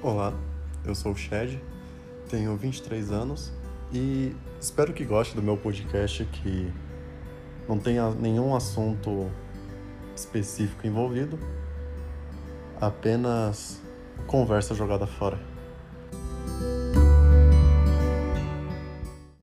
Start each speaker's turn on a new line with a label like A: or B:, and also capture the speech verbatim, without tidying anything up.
A: Olá, eu sou o Shed, tenho vinte e três anos e espero que goste do meu podcast, que não tenha nenhum assunto específico envolvido, apenas conversa jogada fora.